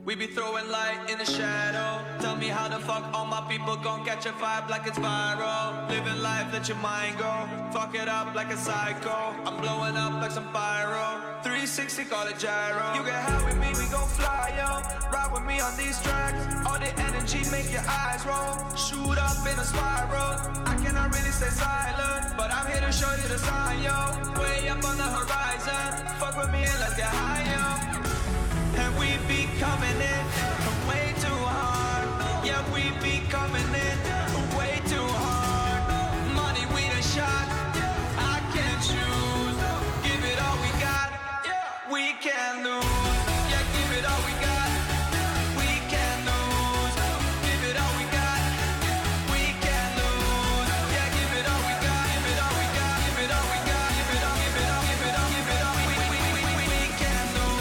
We be throwing light in the shadow. Tell me how the fuck all my people gon' catch a vibe like it's viral. Living life, let your mind go. Fuck it up like a psycho. I'm blowing up like some pyro. 360, call it gyro. You get high with me, we gon' fly, yo. Ride with me on these tracks. All the energy make your eyes roll. Shoot up in a spiral. I cannot really stay silent, but I'm here to show you the sign, yo. Way up on the horizon. Fuck with me and let's get high, yo. And we be coming in way too hard. Yeah, we be coming in way too hard. Money we done shot, I can't choose. Give it all we got, we can't lose. Yeah, give it all we got, we can't lose. Give it all we got, we can't lose. Yeah, give it all we got, give it all we got, give it all we got, give it all, give it all, give it all, give it all. We can't lose.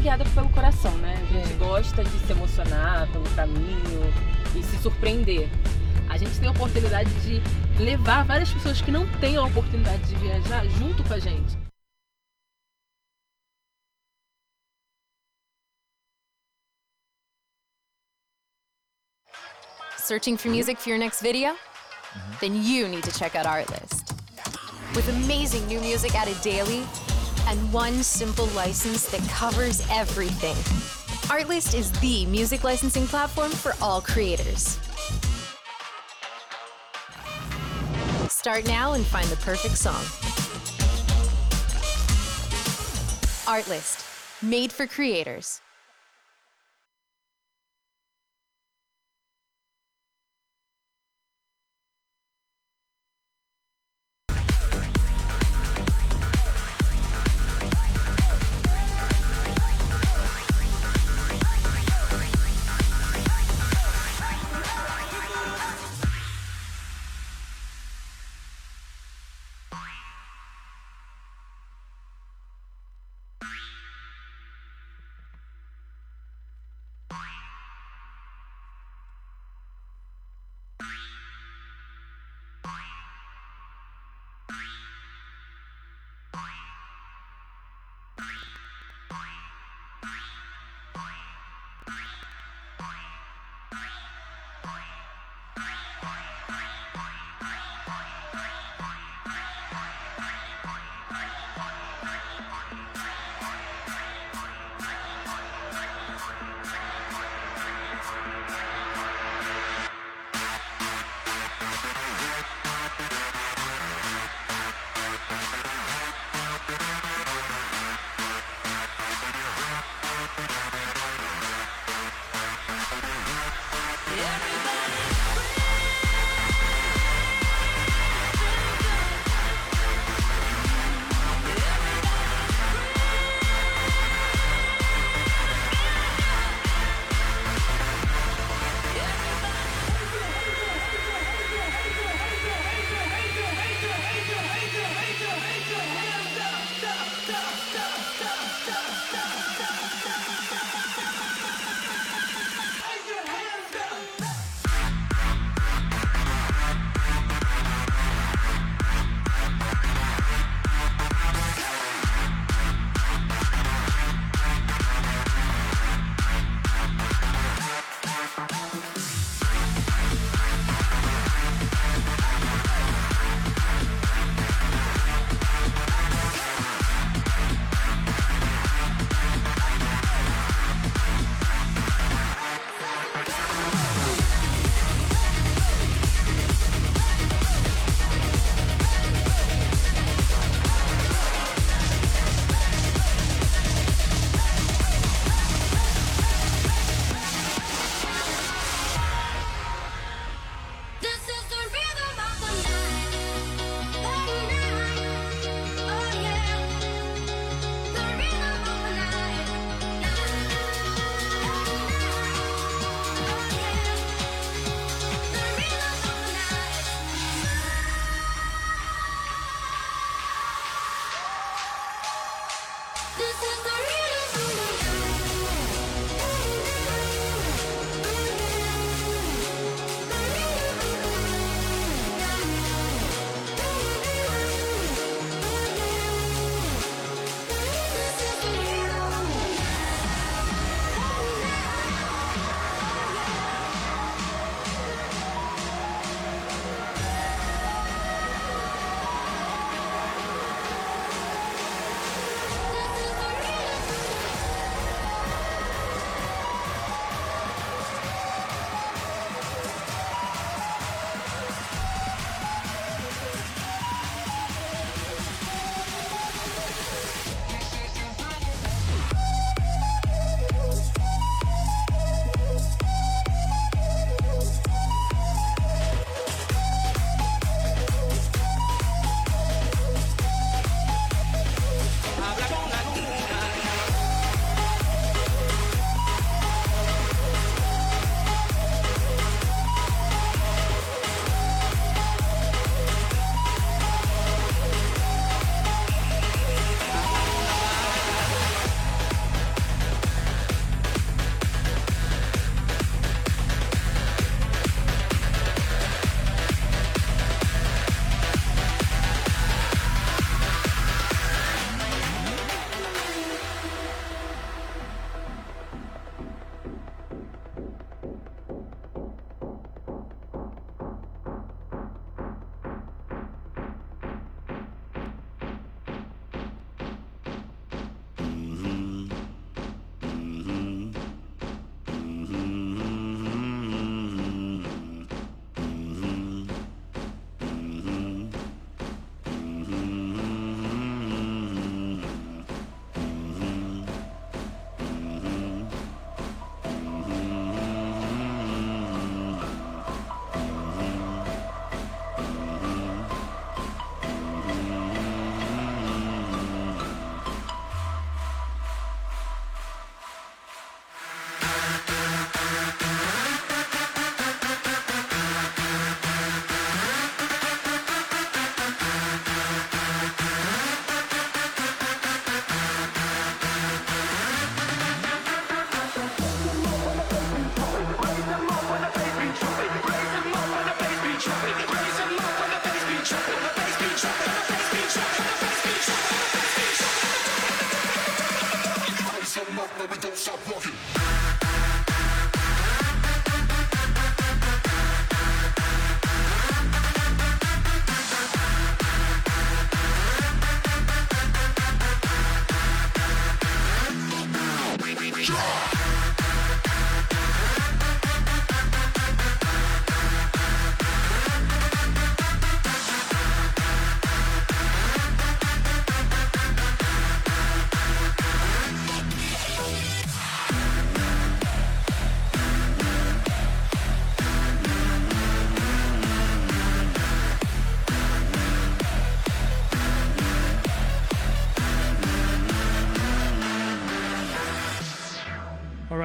guiada pelo coração, né? A gente gosta de se emocionar pelo caminho e se surpreender. A gente tem a oportunidade de levar várias pessoas que não têm a oportunidade de viajar junto com a gente. Searching for music for your next video? Then you need to check out Artlist. With amazing new music added daily and one simple license that covers everything. Artlist is the music licensing platform for all creators. Start now and find the perfect song. Artlist, made for creators.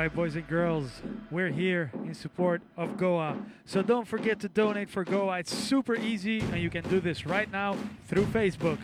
right, boys and girls, we're here in support of Goa. So don't forget to donate for Goa. It's super easy, and you can do this right now through Facebook.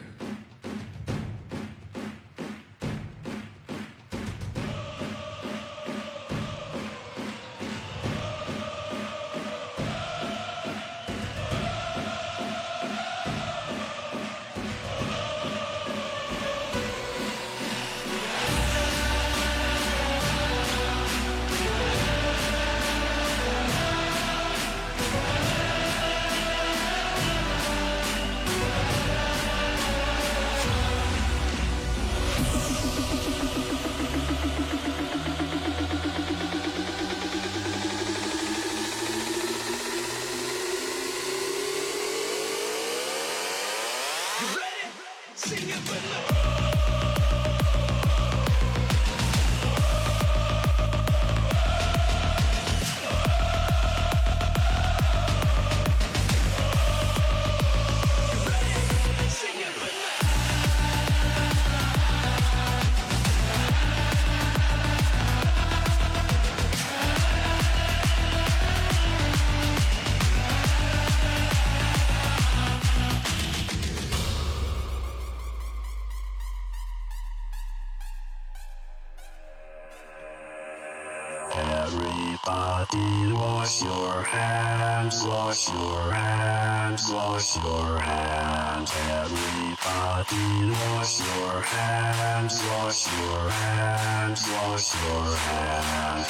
Everybody wash your hands, wash your hands, wash your hands. Everybody wash your hands, wash your hands, wash your hands.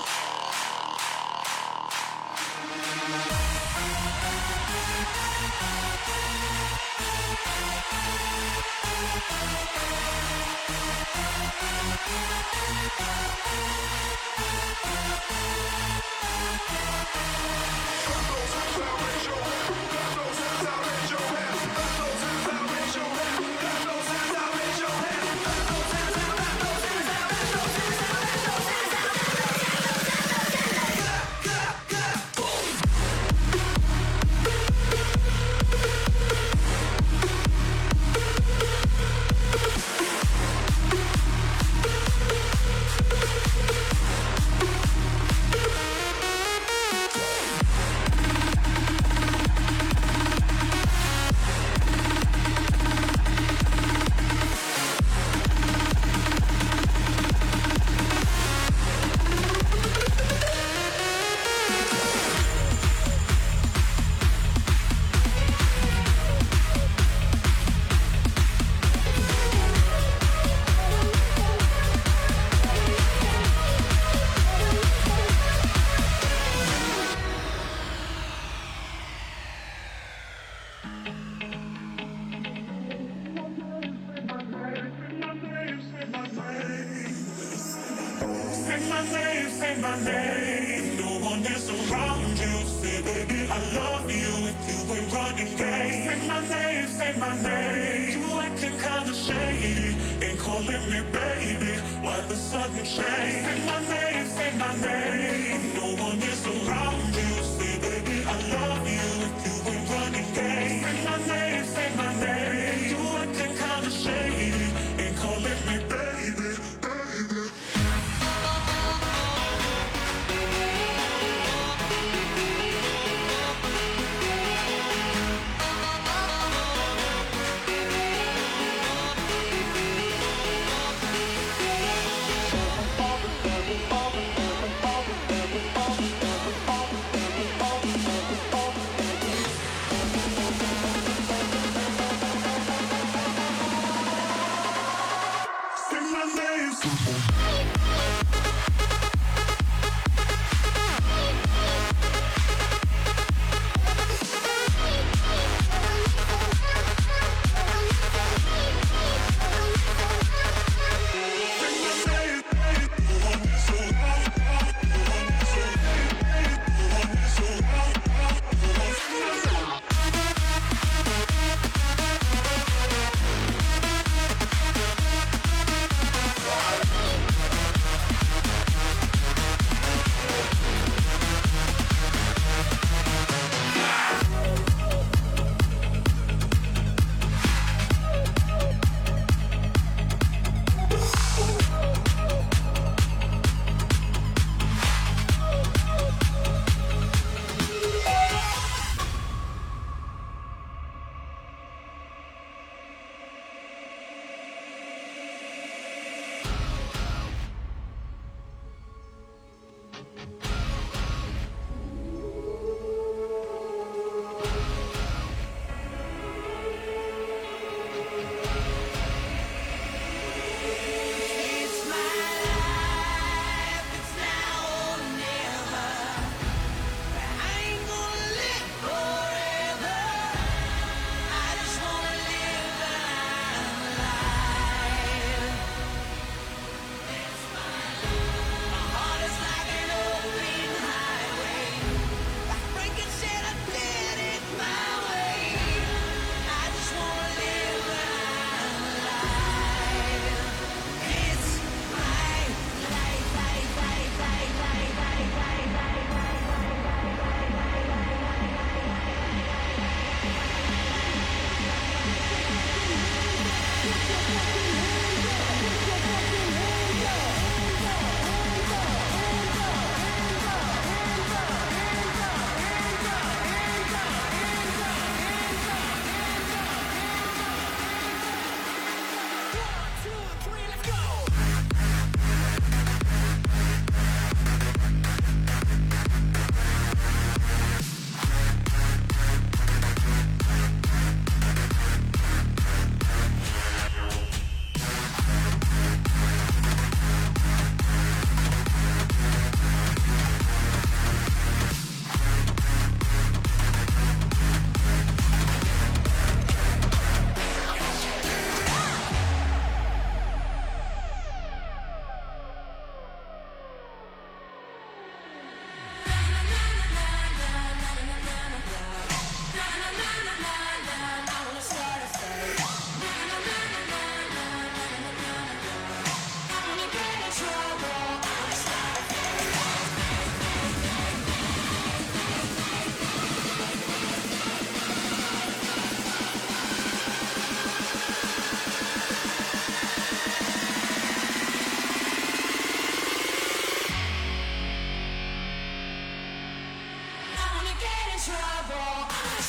Say my name, no one is around you. Say, baby, I love you if you ain't running game. Say my name, you acting kinda shady, ain't calling me baby, why the sudden change? Say my name, no one is around you. Say, baby, I love you if you ain't running game. Say my name, you acting kinda shady, ain't calling me baby.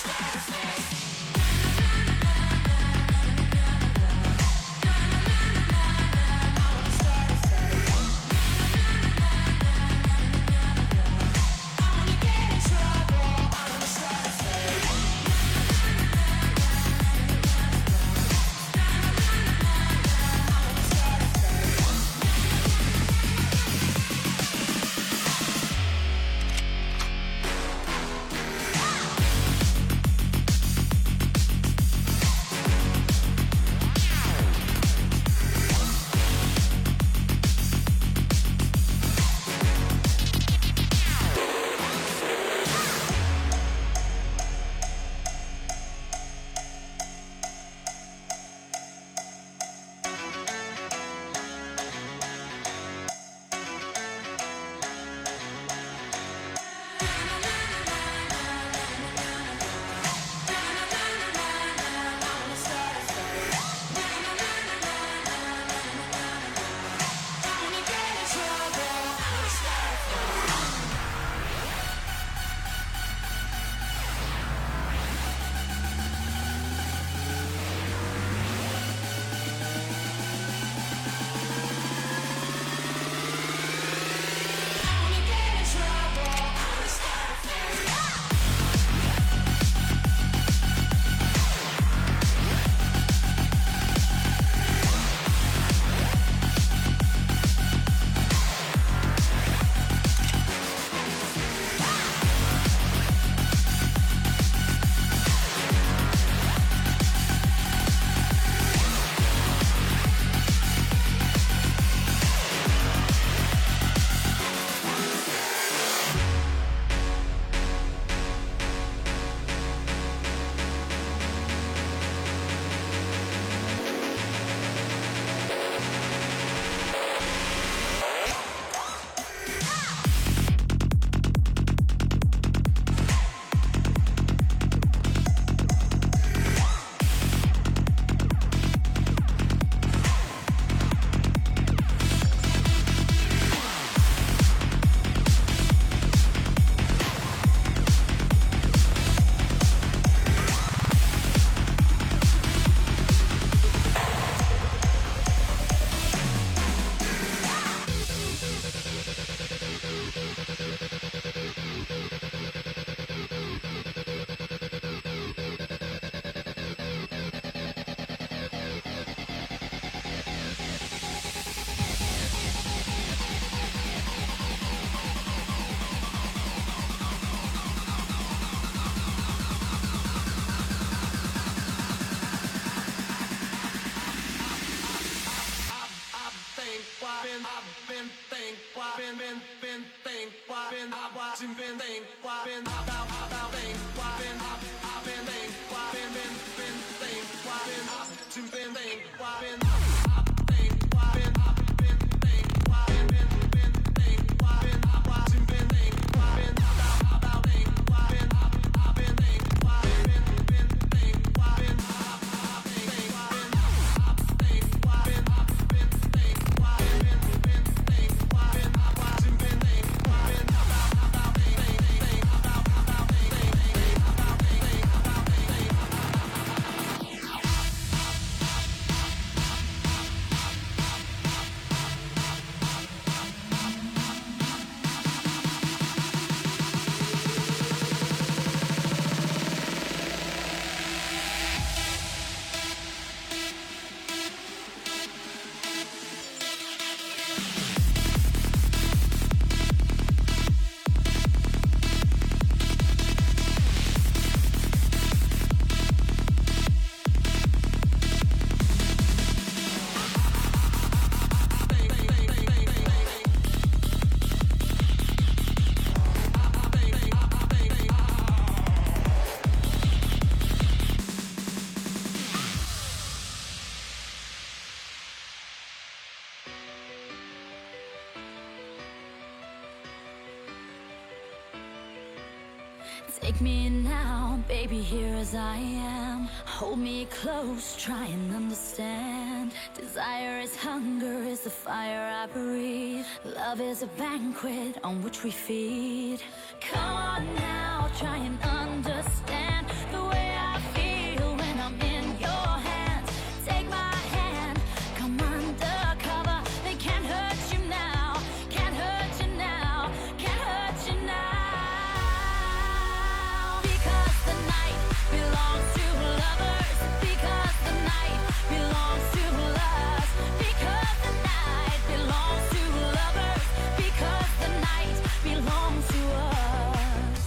Take me in now, baby, here as I am. Hold me close, try and understand. Desire is hunger, is the fire I breathe. Love is a banquet on which we feed. Come on now, try and understand the belongs to us. Because the night belongs to lovers. Because the night belongs to us.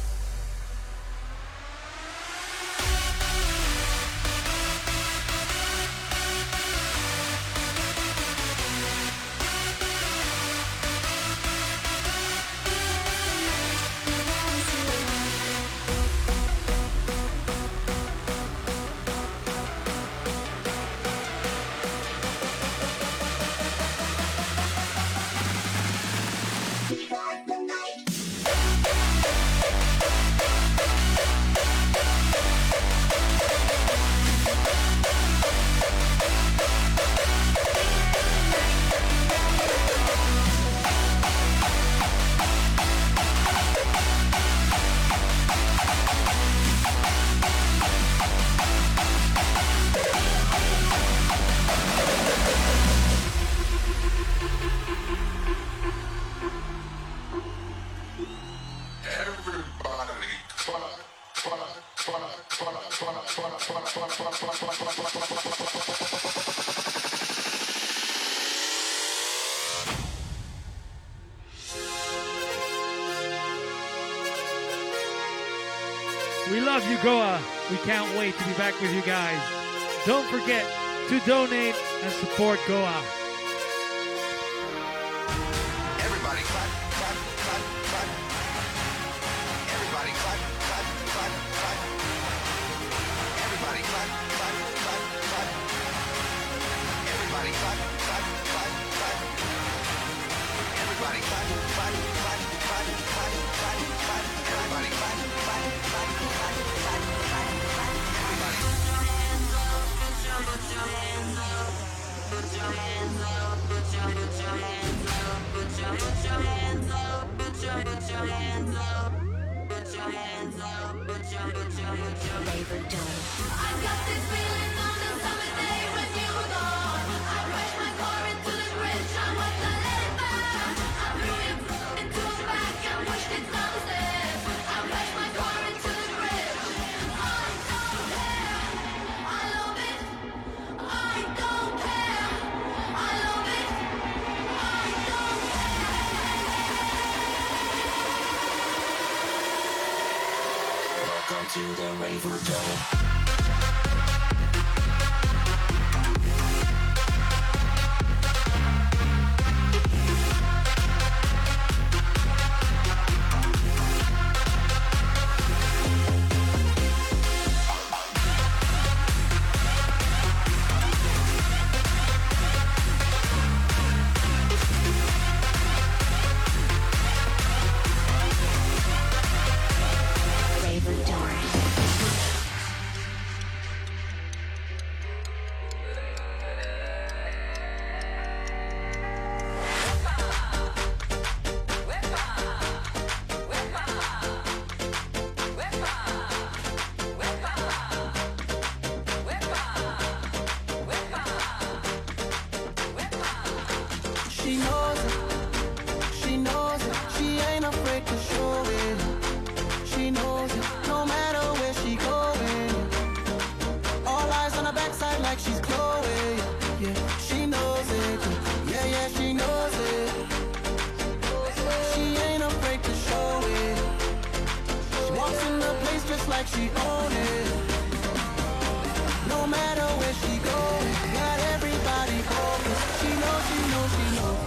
We love you, Goa. We can't wait to be back with you guys. Don't forget to donate and support Goa. Everybody clap, clap, clap, clap. Everybody clap, clap, clap, clap. Everybody clap, clap, clap, clap. Everybody clap, clap, clap, clap. Everybody clap, clap, clap, clap, clap, clap, clap. Everybody clap, clap, clap, clap, clap, clap. Everybody. Put your hands up. Put your hands up. Put your hands up. Put your hands up. Put your hands up. Put your hands up. Put your Labor Day. I got this feeling on the summer day when you were gone. I crashed my car into the bridge. I was not let it burn. I threw it into a bag and pushed it down the stairs. I crashed my car into the bridge. I don't care. I love it. I don't care. I love it. I don't care. Welcome to the Raver Dome. Raver Dome. She knows it, she knows it, she ain't afraid to show it. She knows it, no matter where she going. All eyes on her backside like she's Chloe. Yeah, she knows it, yeah, yeah, she knows it. She ain't afraid to show it. She walks in the place just like she own it. No matter where she goes, got everybody focused. She knows, she knows, she knows.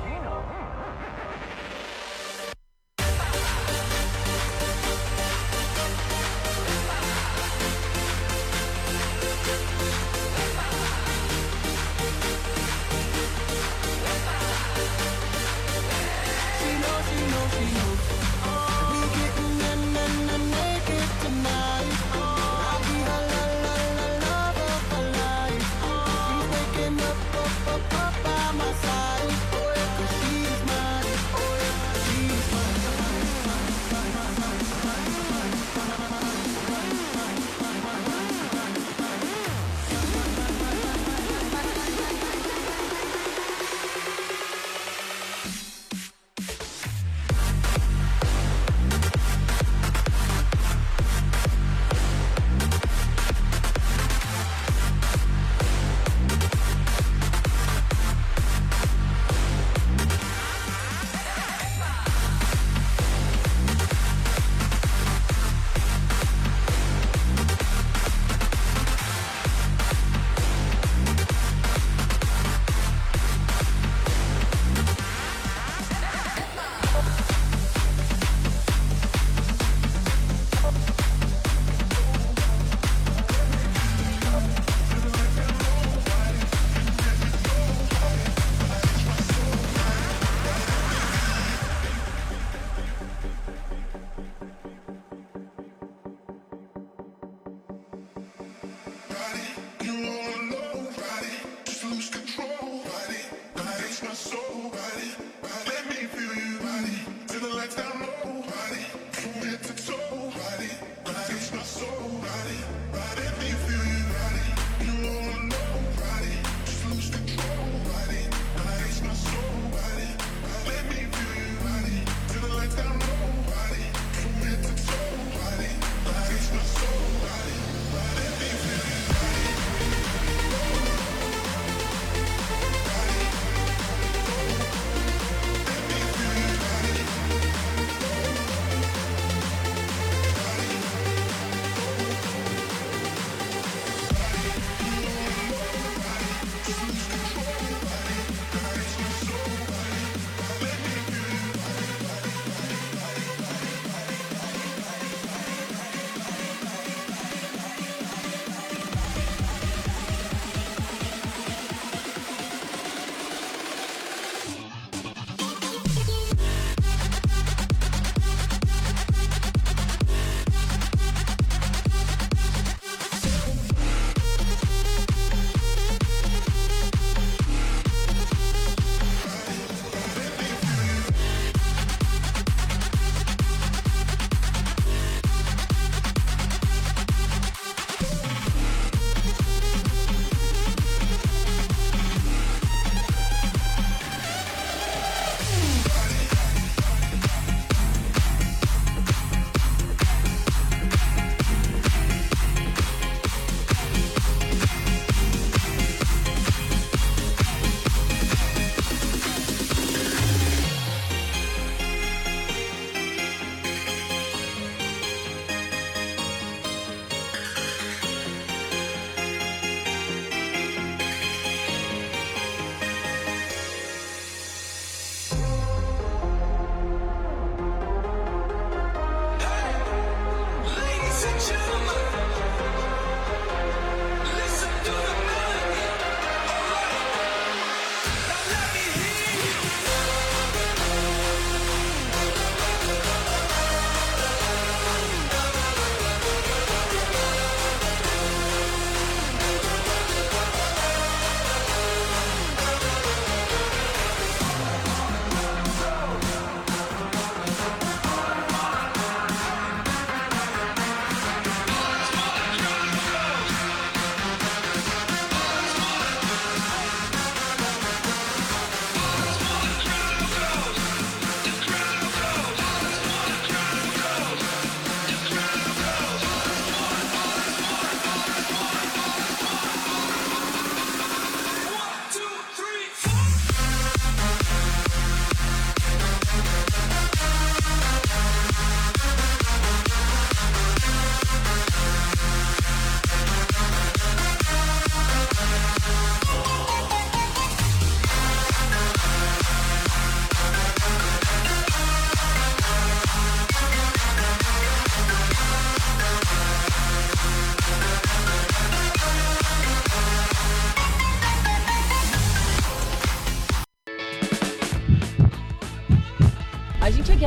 She knows, she knows, she knows. We getting naked tonight.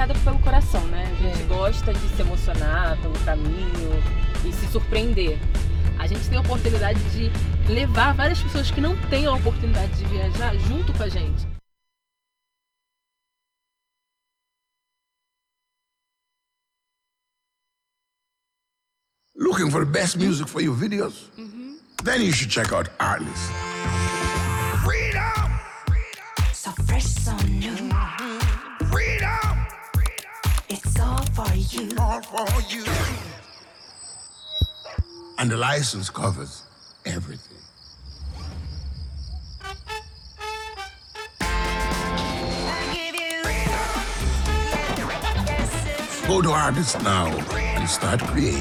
guiada pelo coração, né? A gente gosta de se emocionar pelo caminho e se surpreender. A gente tem a oportunidade de levar várias pessoas que não têm a oportunidade de viajar junto com a gente. Looking for the best music for your videos? Then you should check out Artlist. Freedom! So fresh, so new. Freedom! It's all for you. All for you. And the license covers everything. Go to Artlist now and start creating.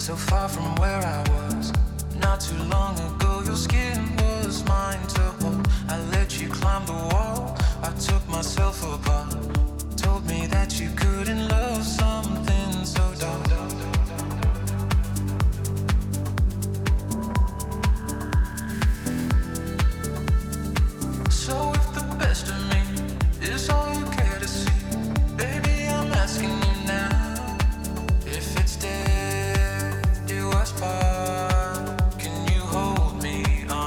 so far from where I was. Not too long ago, your skin was mine to hold. I let you climb the wall, I took myself apart. Told me that you couldn't love something so dark. So if the best of me is all you care to see, baby, I'm asking you now, if it's dead, do us part. Can you hold me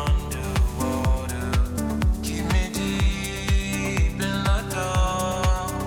underwater? Keep me deep in the dark.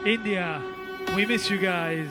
India, we miss you guys.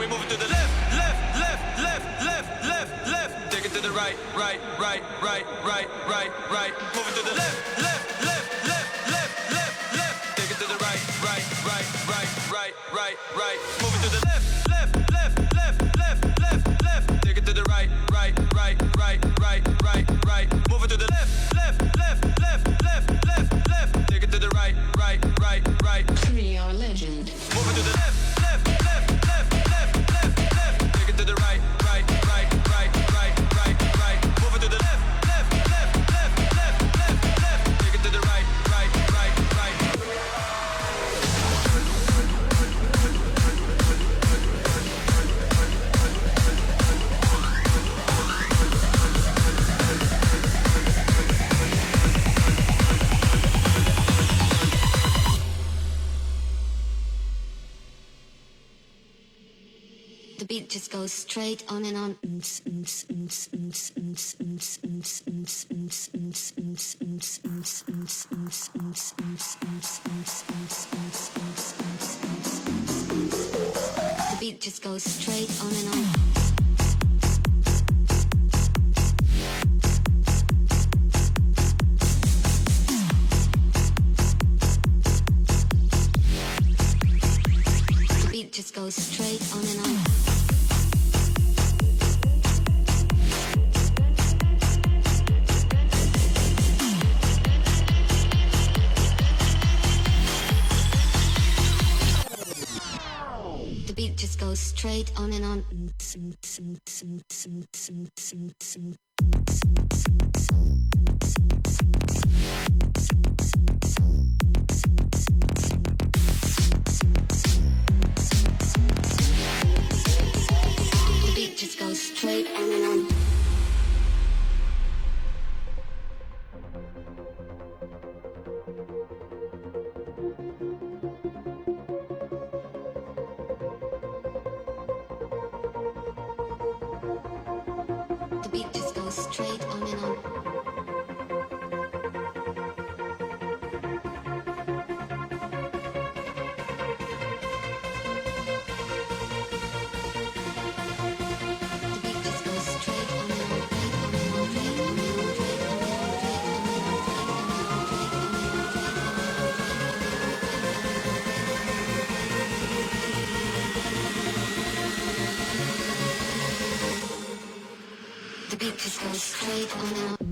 Move it to the left, left, left, left, left, left, left. Take it to the right, right, right, right, right, right, right. Move it to the left, left, left, left, left, left, left. Take it to the right, right, right, right, right, right, right. Move it to the left, left, left, left, left, left, left. Take it to the right, right, right, right, right, right, right. Move it to the left, left, left, left, left, left, left. Take it to the right, right, right, right. 3-hour legend. Move it to the left, left, left, left, left, left, left. Take it to the right, right, right, right, right, right, right. Move it to the left, left, left, left, left, left, left. Take it to the right, right, right, right. The beat just goes straight on and on. The beat just goes straight on and on. The beat just goes straight on and on. The beat just goes straight on and on. The beat just goes straight on and on. The beat just goes straight on and on. The beat just goes straight on and on, straight on and on, straight on and on, straight on and on, straight on and on, straight on and on, straight on and on, straight on and on. The beat just goes straight on and on.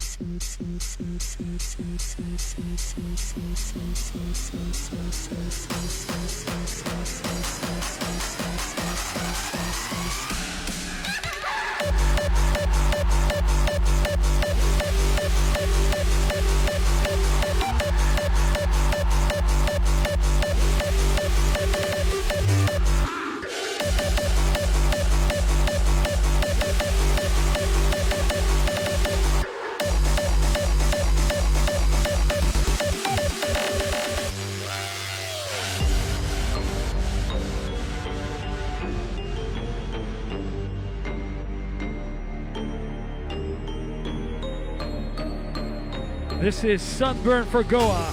This is Sunburn for Goa.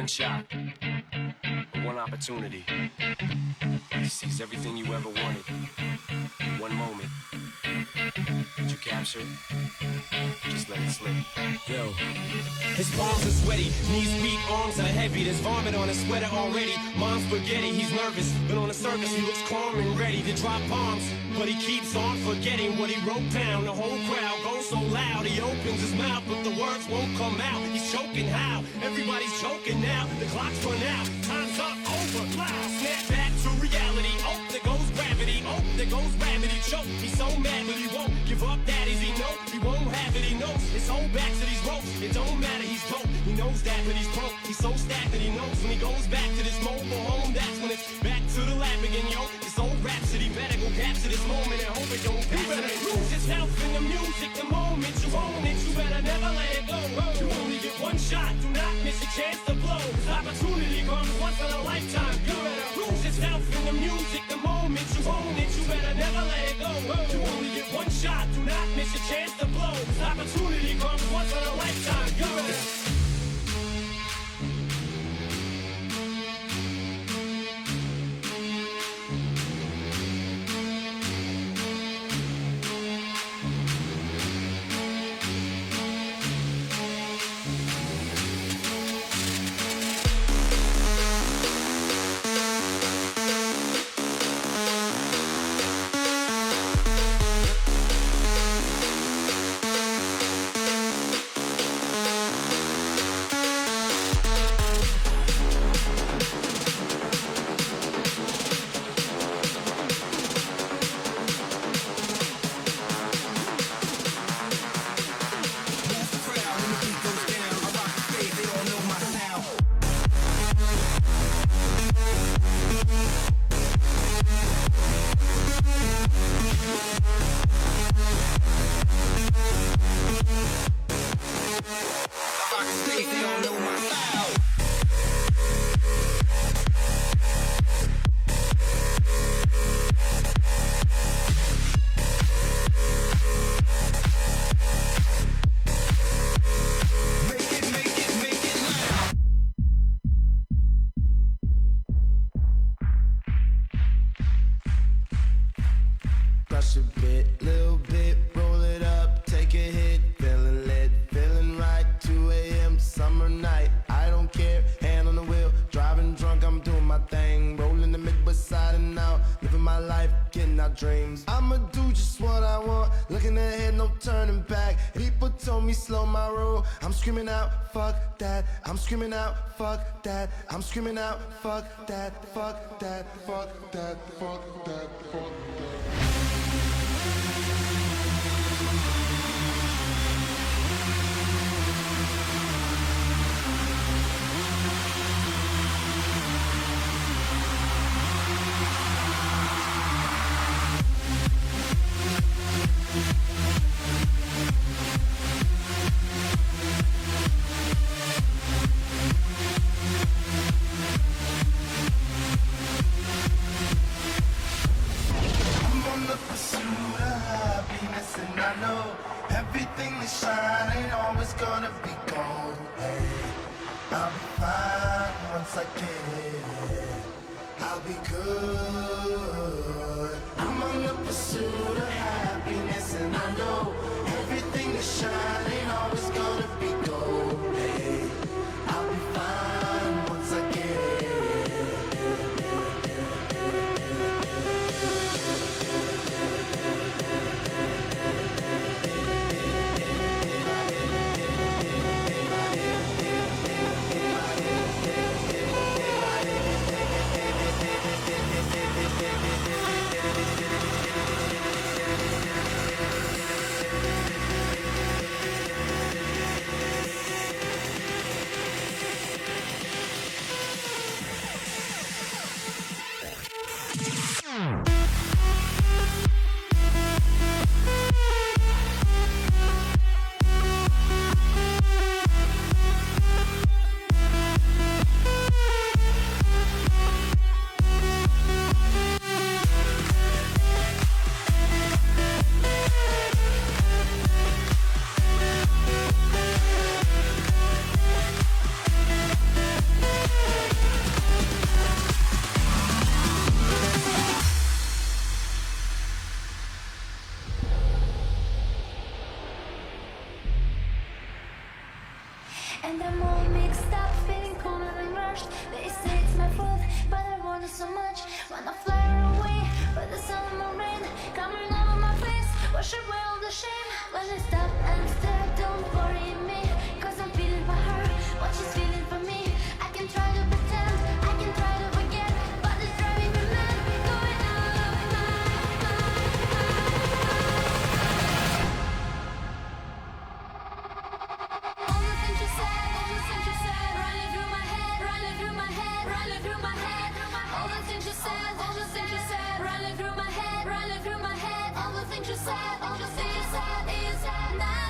one shot, one opportunity to seize everything you ever wanted. One moment. Did you capture it? Just let it slip. Yo. His palms are sweaty, knees weak, arms are heavy. There's vomit on his sweater already. Mom's spaghetti, he's nervous, but on the surface he looks calm and ready to drop bombs. But he keeps on forgetting what he wrote down. The whole crowd goes so loud, he opens his mouth, but the words won't come out. He's choking how? Everybody's choking now. The clock's run out, time's up, over, loud. Snap back to reality. Oh, there goes gravity. Oh, there goes gravity. Choke. He's so mad, but he won't give up. That is he know. He won't have it. He knows it's all back to these ropes. It don't matter. He's dope. He knows that, but he's broke. He's so stacked that he knows when he goes back to this mobile home. That's when it's back to the lab again, yo. This old rhapsody better go capture this moment and hope it don't pass. You better lose yourself in the music. The moment you own it, you better never let it go. You only get one shot. Do not miss a chance to blow. This opportunity comes once in a lifetime. You better lose yourself in the music. The moment you own it, you better never let it go. You only get one shot. Do not miss a chance to blow. This opportunity comes once in a lifetime. You better. Crush a bit, little bit, roll it up, take a hit, feeling lit, feeling right, 2 a.m. summer night, I don't care, hand on the wheel, driving drunk, I'm doing my thing, rolling the mid beside and out, living my life, getting out dreams. I'ma do just what I want, looking ahead, no turning back. People told me slow my roll, I'm screaming out, fuck that, I'm screaming out, fuck that, I'm screaming out, fuck that, fuck that, fuck that, fuck that, fuck that. Wanna fly away, but the summer rain coming over my face. Wash away all the shame. When I stop and stare, don't worry me, 'cause I'm feeling for her what she's feeling for me. I can try to pretend, I can try to forget, but it's driving me mad. Going out of my all the things you said, running through my head, running through my head, running through my head. All the things you said, running through my head, running through my head. All the things you said, all the things you said is not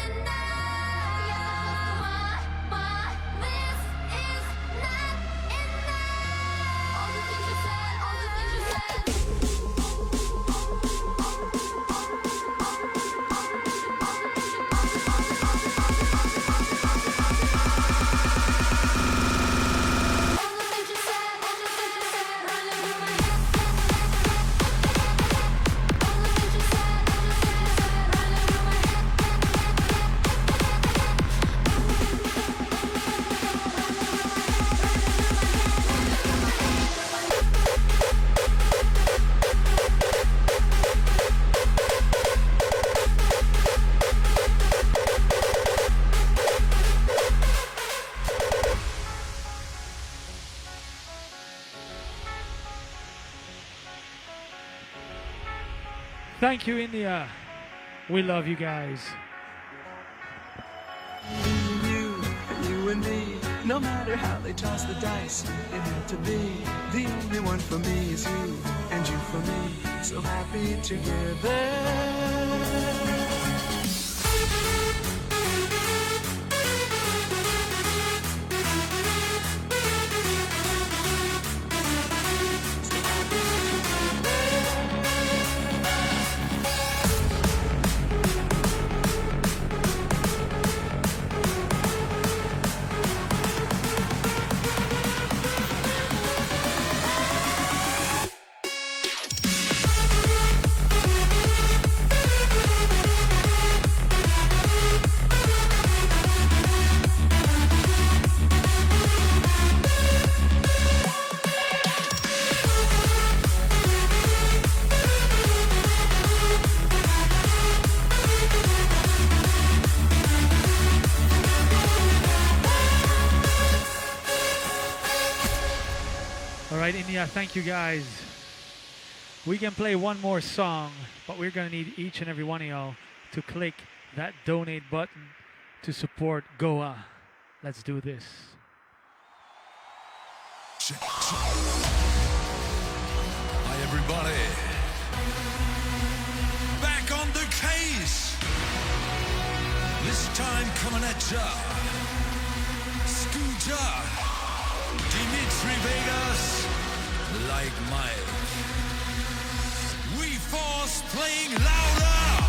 enough. This is not enough. All the things you said, all the things you said. Thank you, India. We love you guys. You and me, no matter how they toss the dice, it had to be. The only one for me is you, and you for me, so happy together. India, thank you guys. We can play one more song, but we're gonna need each and every one of y'all to click that donate button to support Goa. Let's do this. Hi everybody. Back on the case. This time coming at ya. Scooter. Dimitri Vegas. Like Mike. We Force playing louder.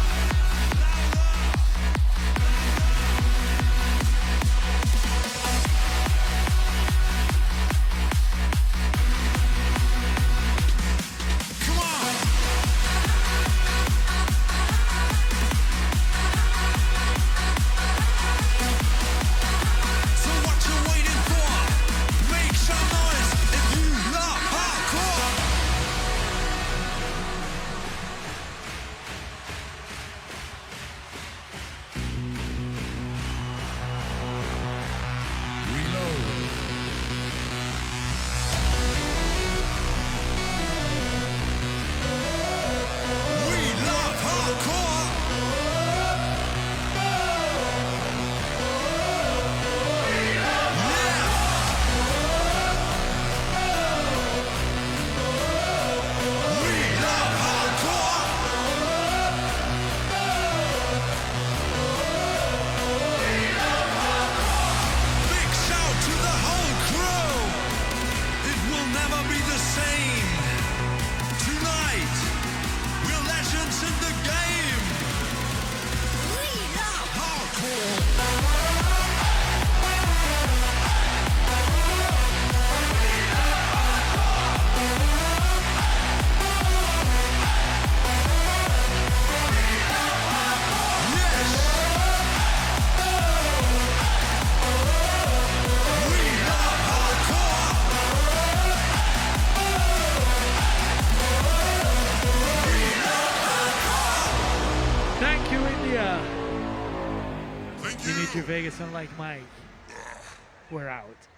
Julia. Dimitri Vegas and Like Mike. We're out.